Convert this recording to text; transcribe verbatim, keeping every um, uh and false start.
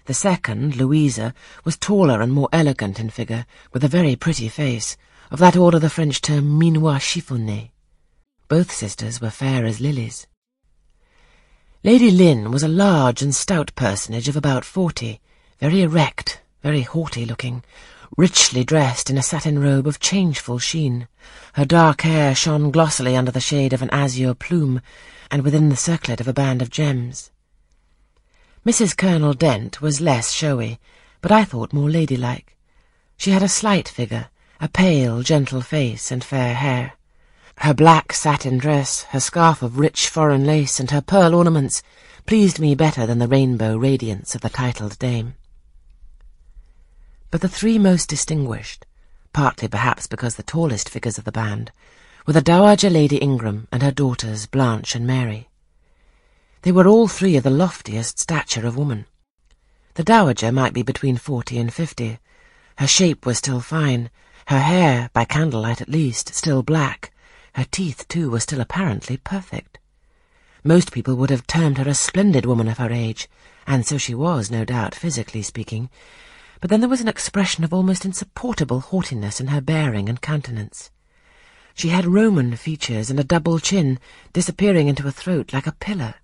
The second, Louisa, was taller and more elegant in figure, with a very pretty face, of that order the French term minois chiffonné. Both sisters were fair as lilies. Lady Lynn was a large and stout personage of about forty, very erect, very haughty-looking, richly dressed in a satin robe of changeful sheen. Her dark hair shone glossily under the shade of an azure plume, and within the circlet of a band of gems. Missus Colonel Dent was less showy, but I thought more ladylike. She had a slight figure, a pale, gentle face, and fair hair. Her black satin dress, her scarf of rich foreign lace, and her pearl ornaments pleased me better than the rainbow radiance of the titled dame. But the three most distinguished, partly perhaps because the tallest figures of the band, were the Dowager Lady Ingram and her daughters Blanche and Mary. They were all three of the loftiest stature of woman. The Dowager might be between forty and fifty. Her shape was still fine, her hair, by candlelight at least, still black. Her teeth, too, were still apparently perfect. Most people would have termed her a splendid woman of her age, and so she was, no doubt, physically speaking, but then there was an expression of almost insupportable haughtiness in her bearing and countenance. She had Roman features and a double chin, disappearing into a throat like a pillar.